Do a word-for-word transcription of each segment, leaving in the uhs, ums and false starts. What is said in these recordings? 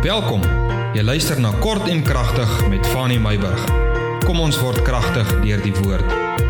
Welkom, jy luister na Kort en Kragtig met Fanny Meyburg. Kom ons word kragtig deur die woord.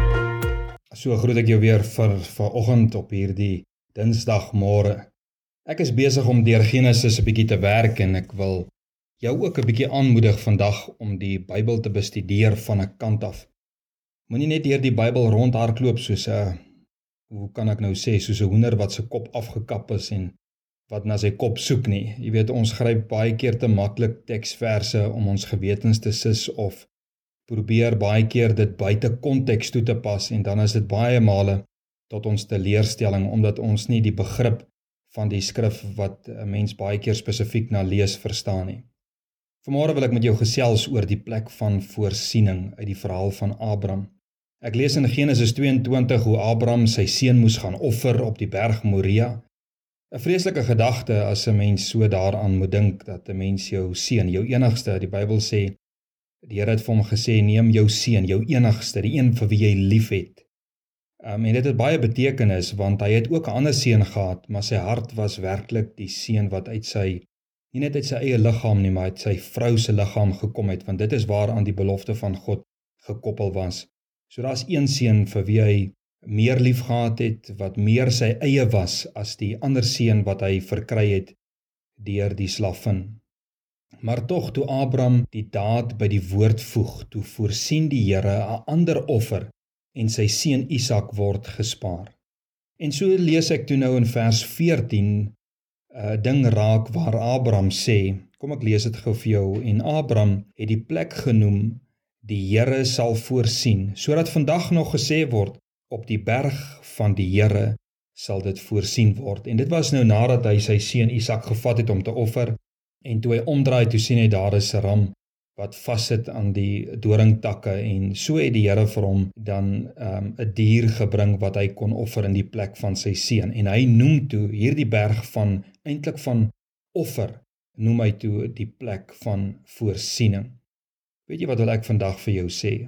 So groet ek jou weer vir vanoggend op hierdie Dinsdagmôre. Ek is besig om deur Genesis 'n bietjie te werk en ek wil jou ook 'n bietjie aanmoedig vandag om die Bybel te bestudeer van 'n kant af. Moenie net deur die Bybel rondhardloop soos 'n, hoe kan ek nou sê, soos 'n hoender wat sy kop afgekap is en wat na sy kop soek nie. Jy weet, ons gryp baie keer te maklik teksverse om ons gewetens te sis of probeer baie keer dit buite konteks toe te pas en dan is dit baie male tot ons teleurstelling omdat ons nie die begrip van die skrif wat 'n mens baie keer spesifiek na lees verstaan nie. Vanmôre wil ek met jou gesels oor die plek van voorsiening uit die verhaal van Abraham. Ek lees in Genesis tweeëntwintig hoe Abraham sy seun moes gaan offer op die berg Moria. 'n Vreeslike gedagte as 'n mens so daaraan moet dink dat 'n mens jou seun, jou enigste, die Bybel sê, die Here het vir hom gesê, neem jou seun, jou enigste, die een vir wie jy lief het. Um, en dit het baie betekenis, want hy het ook 'n ander seun gehad, maar sy hart was werklik die seun wat uit sy, nie net uit sy eie liggaam nie, maar uit sy vrou se liggaam gekom het, want dit is waaraan die belofte van God gekoppel was. So daar is een seun vir wie hy meer lief gehad het, wat meer sy eie was as die ander seun wat hy verkry het deur die slavin. Maar tog, toe Abraham die daad by die woord voeg, toe voorsien die Here 'n ander offer en sy seun Isak word gespaar. En so lees ek toe nou in vers veertien 'n ding raak waar Abraham sê, kom ek lees dit gou vir jou, en Abraham het die plek genoem, die Here sal voorsien, sodat vandag nog gesê word, op die berg van die Here sal dit voorsien word. En dit was nou nadat hy sy seun Isak gevat het om te offer, en toe hy omdraai, toe sien hy daar is 'n ram wat vassit aan die doringtakke, en so het die Here vir hom dan um, 'n dier gebring wat hy kon offer in die plek van sy seun. En hy noem toe hierdie berg van, eintlik van offer, noem hy toe die plek van voorsiening. Weet jy wat wil ek vandag vir jou sê?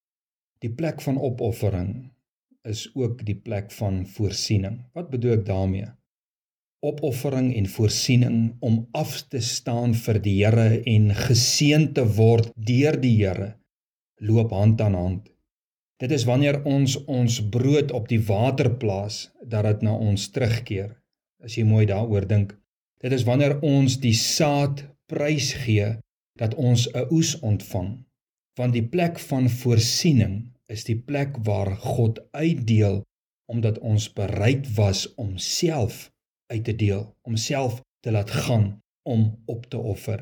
Die plek van opoffering is ook die plek van voorsiening. Wat bedoel ek daarmee? Opoffering en voorsiening om af te staan vir die Here en geseën te word deur die Here, loop hand aan hand. Dit is wanneer ons ons brood op die water plaas, dat dit na ons terugkeer, as jy mooi daaroor dink. Dit is wanneer ons die saad prys gee, dat ons 'n oes ontvang. Want die plek van voorsiening is die plek waar God uitdeel, omdat ons bereid was om self uit te deel, om self te laat gaan, om op te offer.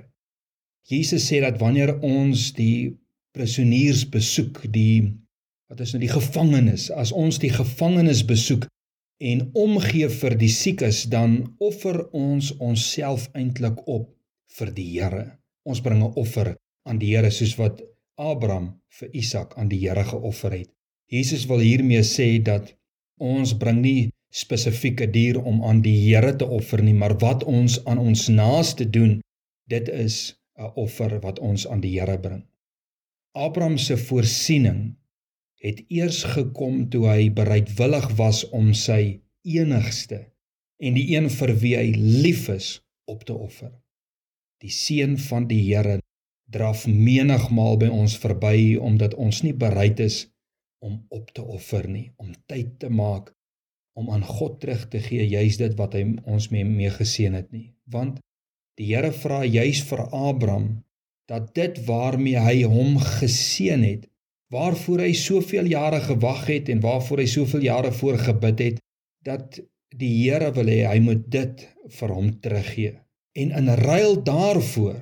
Jesus sê dat wanneer ons die prisoniers besoek, die, wat is nou die gevangenes, as ons die gevangenes besoek en omgee vir die siekes, dan offer ons onsself eintlik op vir die Here. Ons bring 'n offer aan die Here, soos wat Abraham vir Isak aan die Here geoffer het. Jesus wil hiermee sê dat ons bring nie spesifieke dier om aan die Here te offer nie, maar wat ons aan ons naaste doen, dit is 'n offer wat ons aan die Here bring. Abraham se voorsiening het eers gekom toe hy bereidwillig was om sy enigste en die een vir wie hy lief is op te offer. Die seun van die Here draf menigmaal by ons verby, omdat ons nie bereid is om op te offer nie, om tyd te maak, om aan God terug te gee, juis dit wat hy ons mee, mee geseën het nie. Want die Here vra juis vir Abraham, dat dit waarmee hy hom geseën het, waarvoor hy soveel jare gewag het, en waarvoor hy soveel jare voor gebid het, dat die Here wil hê, hy moet dit vir hom teruggee. En in ruil daarvoor,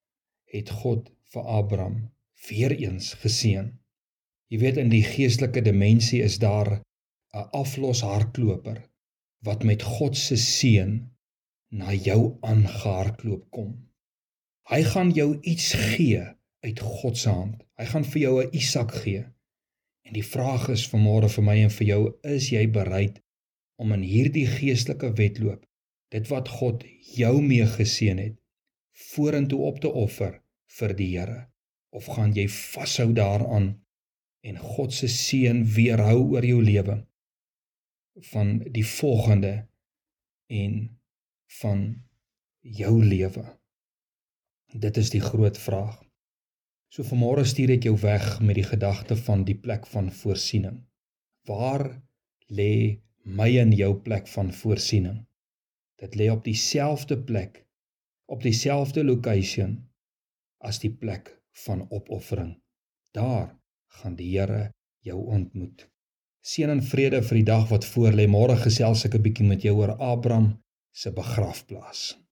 het God vir Abraham weer eens geseën. Jy weet, in die geestelike dimensie is daar 'n afloshardloper wat met God se seën na jou aangehardloop kom. Hy gaan jou iets gee uit God se hand. Hy gaan vir jou 'n Isak gee. En die vraag is vanmôre vir my en vir jou, is jy bereid om in hierdie geestelike wedloop, dit wat God jou mee geseën het, vorentoe op te offer vir die Here? Of gaan jy vashou daaraan en God se seën weerhou oor jou lewe van die volgende en van jou lewe? Dit is die groot vraag. So vanmôre stuur ek jou weg met die gedagte van die plek van voorsiening. Waar lê my en jou plek van voorsiening? Dit lê op dieselfde plek, op dieselfde location as die plek van opoffering. Daar gaan die Here jou ontmoet. Seën en vrede vir die dag wat voor lê. Môre gesels ek 'n bietjie met jou oor Abraham se begrafplaas.